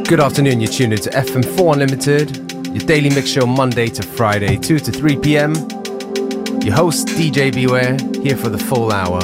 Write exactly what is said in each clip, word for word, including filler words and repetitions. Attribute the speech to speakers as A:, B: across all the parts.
A: Good afternoon, you're tuned into F M four Unlimited, your daily mix show Monday to Friday, two to three p.m. Your host, D J Beware, here for the full hour.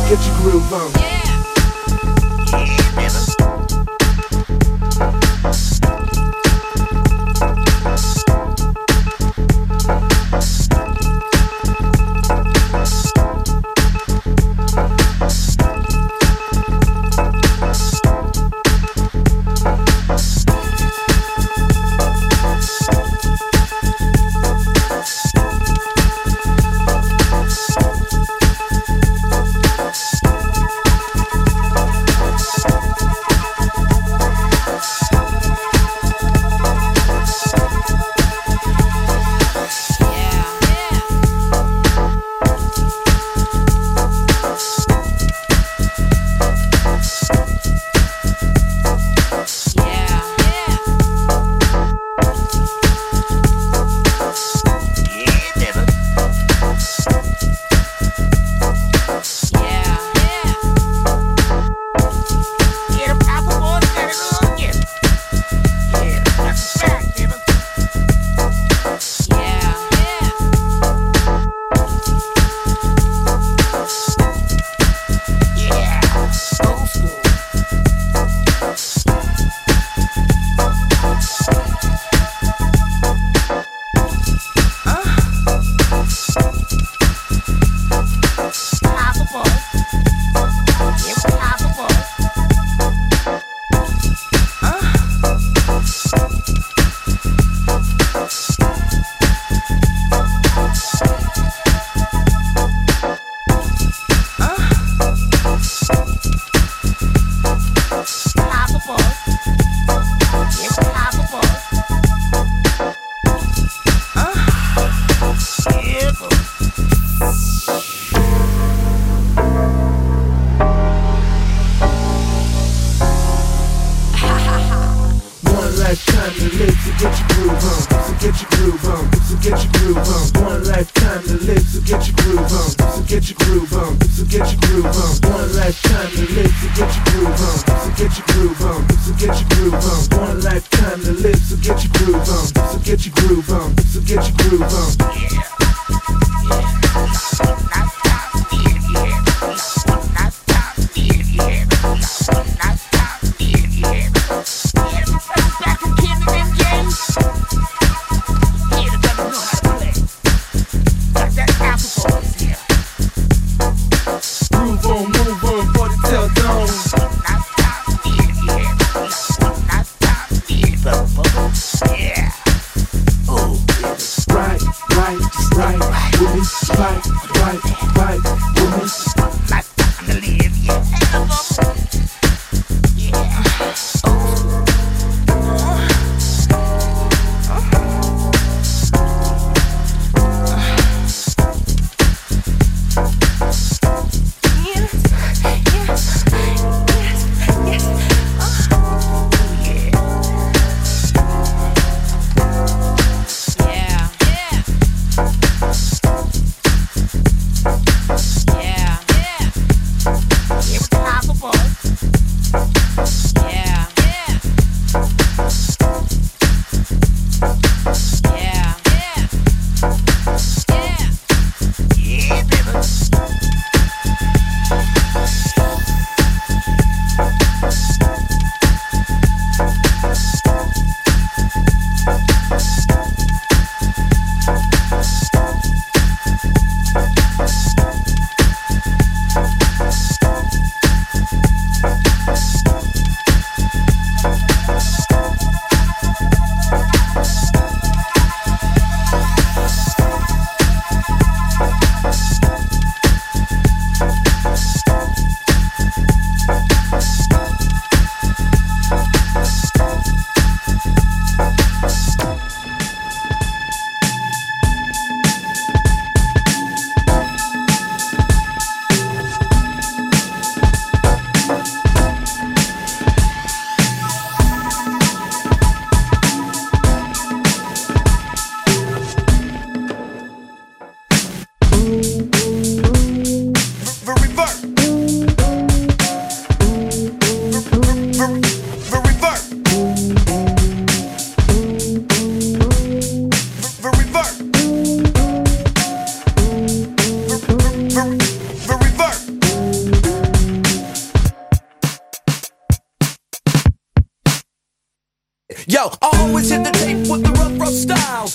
B: get your groove on. Yeah. lifetime to live, so get your groove on, so get your groove on, so get your groove on. One lifetime to live, so get your groove on, so get your groove on, so get your groove on. One lifetime to live, so get your groove on, so get your groove on, so get your groove on. One lifetime to live, so get your groove on, so get your groove on, so get your groove on. Yeah.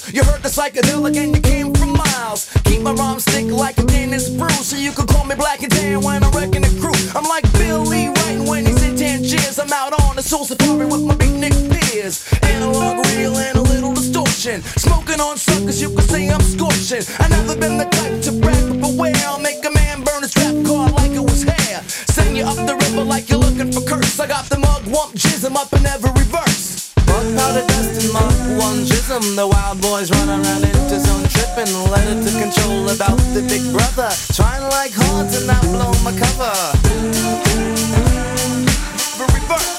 C: house. You heard the psychedelic and you came from miles. Keep my rhymes thick like a Dennis Bruce, so you can call me Black and Tan when I'm wrecking the crew. I'm like Billy writing when he's in Tangiers. I'm out on the soul safari with my beatnik peers. Analog, real, and a little distortion. Smoking on suckers, you can say I'm scorching. I never been the type to brag, but beware, I'll make a man burn his rap card like it was hair. Send you up the river like you're looking for curse. I got the mug, wump, jism up in every verse. Bug powder, dust, and mug, one jism. The wild boys run around into zone tripping. Let it to control about the big brother. Trying like hard to not blow my cover. The reverse.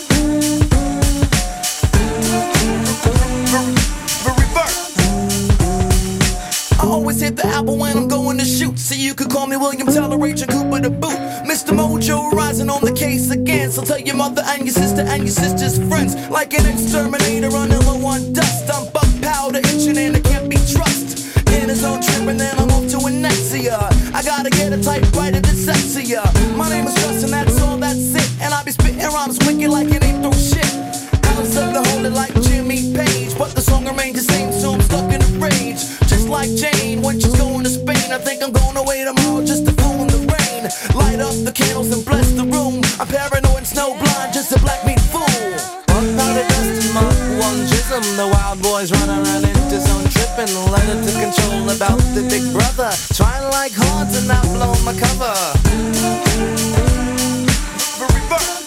C: I always hit the apple when I'm going to shoot. So you could call me William Toleration Cooper the boot. Mister Mojo rising on the case again. So tell your mother and your sister and your sister's friends. Like an exterminator running low on dust. I'm bug powder itching and I can't be trusted. In his own trip and then I'm off to Anexia. I gotta get a typewriter that's sexier. My name is Justin, that's all, that's it. And I be spitting rhymes wicked like it ain't through shit. Alice up the hold it like Jimmy Page. But the song remains the same, so I'm stuck in a rage. Just like Jane when she's going to Spain. I think I'm going away tomorrow just to fool in the rain. Light up the candles and bless the room. I'm paranoid and snowblind, just a black meat fool. Bug powder, dust, and mug, one jism. The wild boys run around into zone tripping. Let it to control about the big brother. Trying like hard to not blow my cover. The reverse.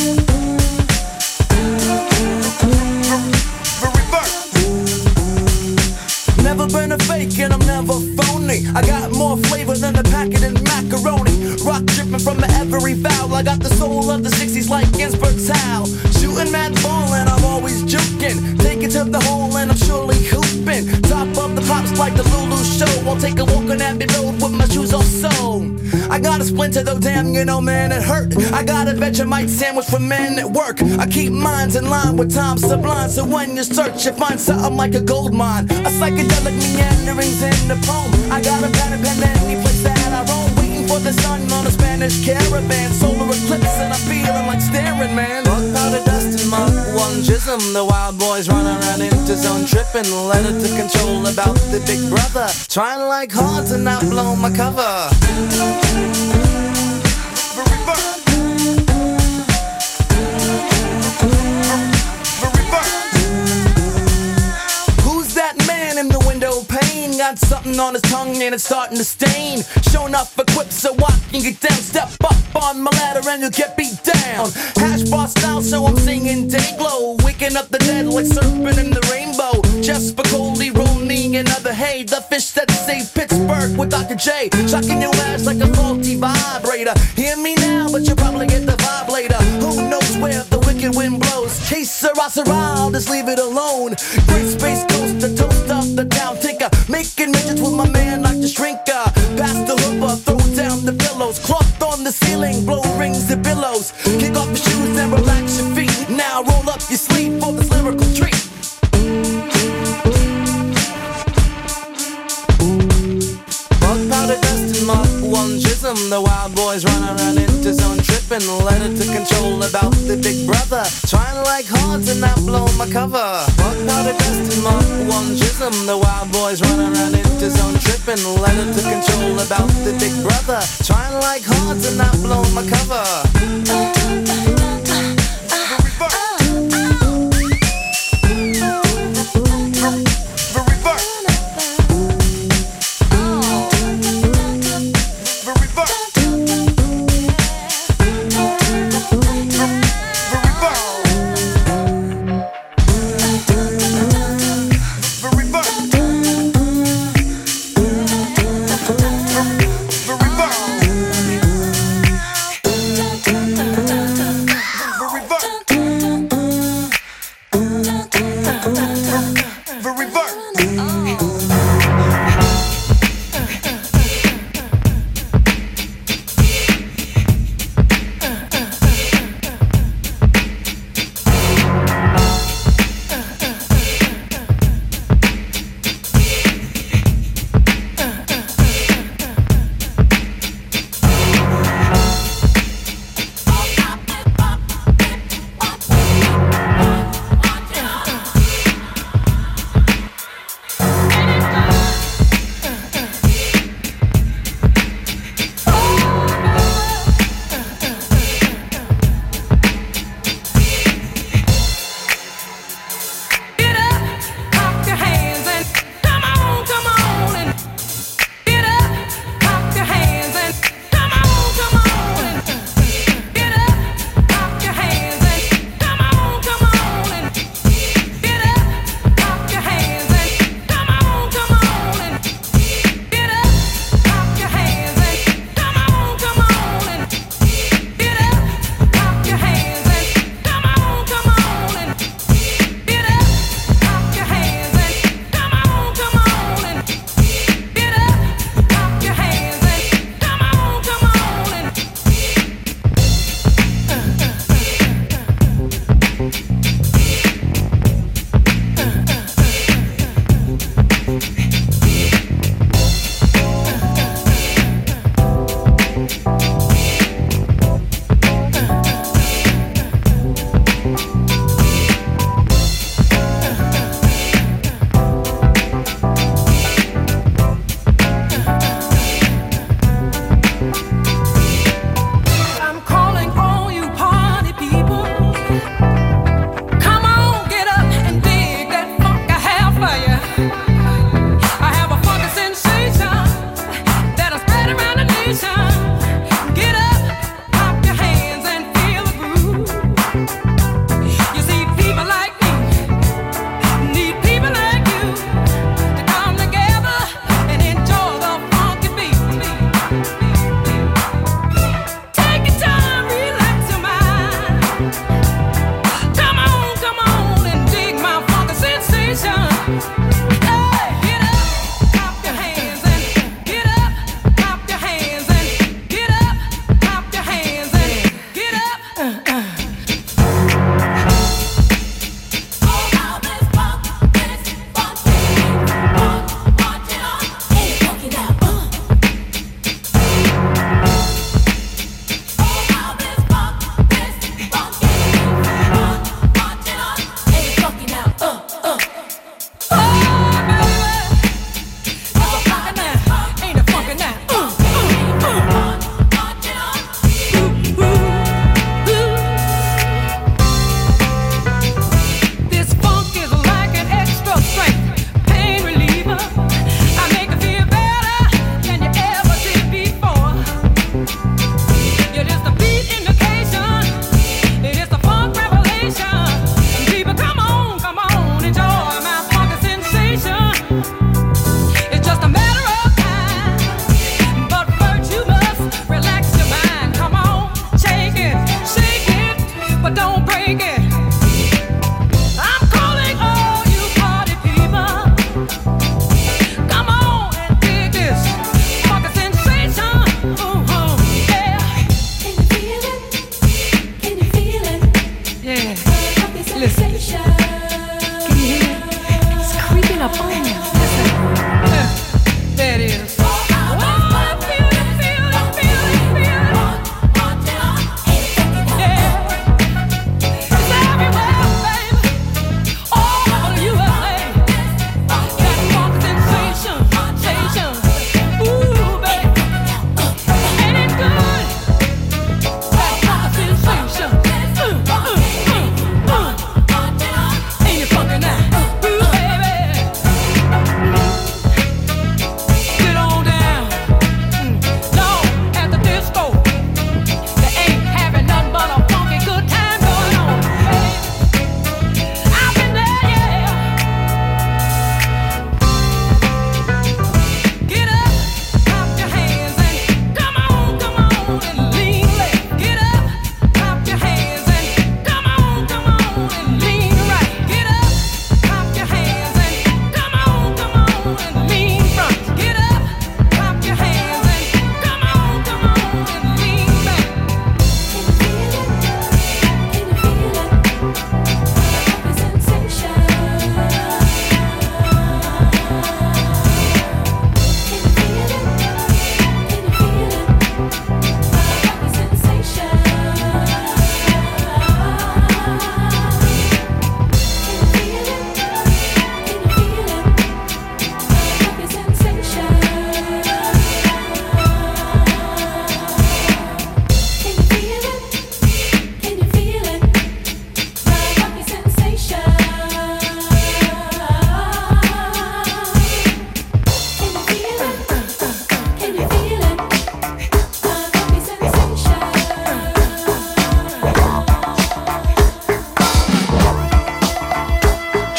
C: Never been a fake and I'm never phony. I got more flavor than a packet in macaroni. Rock dripping from every vowel. I got the soul of the sixties like Ginsberg's How. Shooting mad ball and I'm always juking. Take it to the hole and I'm surely hooping. Top of the pops like the Lulu show. I'll take a walk on Abbey Road with my shoes off so. I got a splinter though, damn, you know, man, it hurt. I got a Vegemite sandwich for men at work. I keep minds in line with time sublime. So when you search, you find something like a gold mine. A psychedelic meanderings in the poem. I got a pen and pen any place that I roam. Waiting for the sun on a Spanish caravan. Solar eclipse and I'm feeling like staring, man. Bug powder, dust, and mug, one jism. The wild boys run around into zone tripping. Let it to control about the big brother. Trying like hard to not blow my cover. The reverse. The reverse. Who's that man in the window pane? Got something on his tongue and it's starting to stain. Showing up equipped so I can get down. Step up on my ladder and you'll get beat down. Hash bar style so I'm singing day glow. Waking up the dead like surfing in the rainbow. Just for Coley, rolling another hay. The fish that saved Pittsburgh with Doctor J. Shocking your ass like a faulty vibrator. Hear me now but you'll probably get the vibe later. Who knows where the wicked wind blows. Case Sirrah, I'll just leave it alone. Great space coast, the toast of the down tinker. Making midgets with my man like the shrinker. Pass the hooper, throw down the pillows. Cloth on the ceiling, blow rings and billows. Kick off your shoes and relax your feet. Now roll up your sleeve for this lyrical treat. Bug powder, dust, and mug, one jism. The wild boys run around into zone tripping. Let it to control about the big brother. Trying like hard to not blow my cover. Bug powder, dust, and mug, one jism. The wild boys run around into zone tripping. Let it to control about the big brother. Trying like hard to not blow my cover.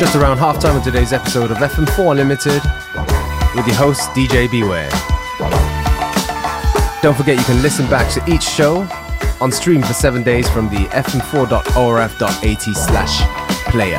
A: just around halftime of today's episode of F M four Unlimited with your host D J Beware. Don't forget you can listen back to each show on stream for seven days from the f m four dot o r f dot a t slash player.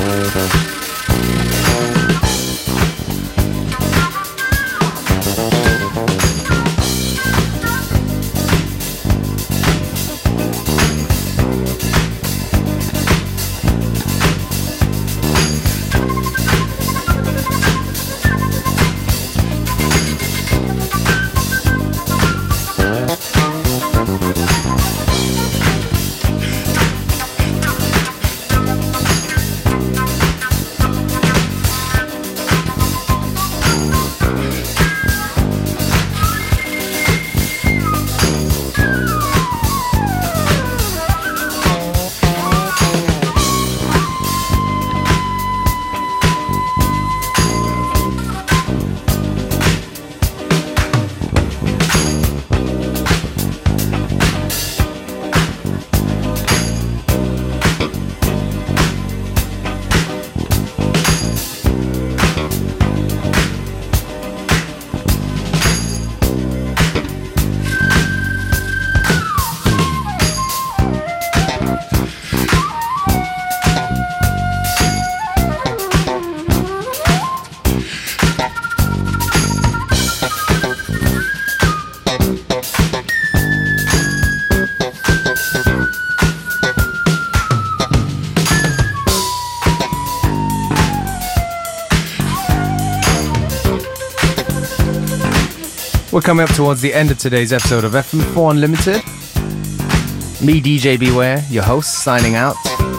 A: We're coming up towards the end of today's episode of F M four Unlimited. Me, D J Beware, your host, signing out.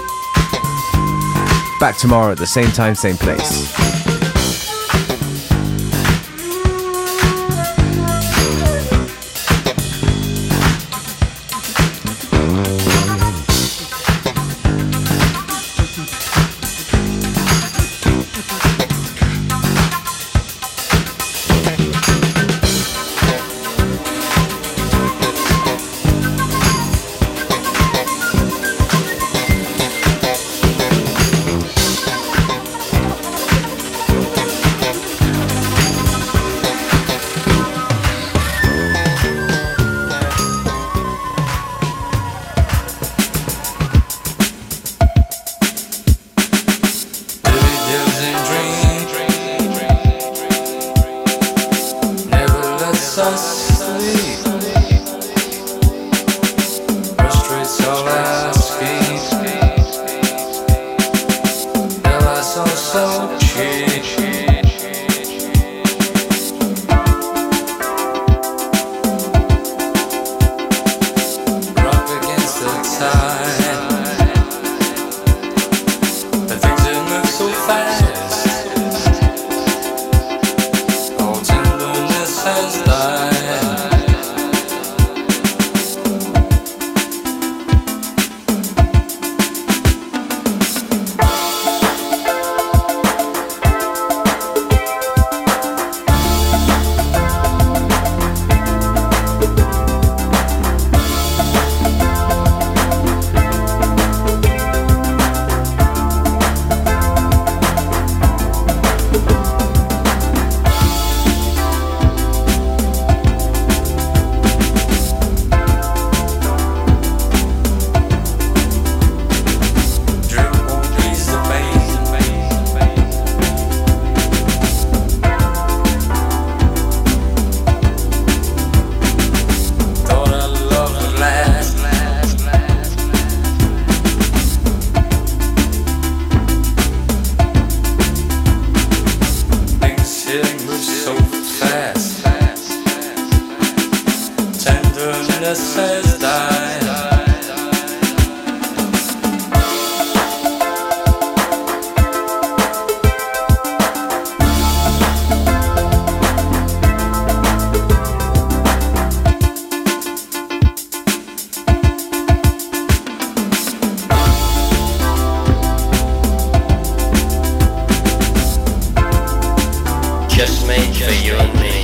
A: Back tomorrow at the same time, same place.
D: Just made for you and me.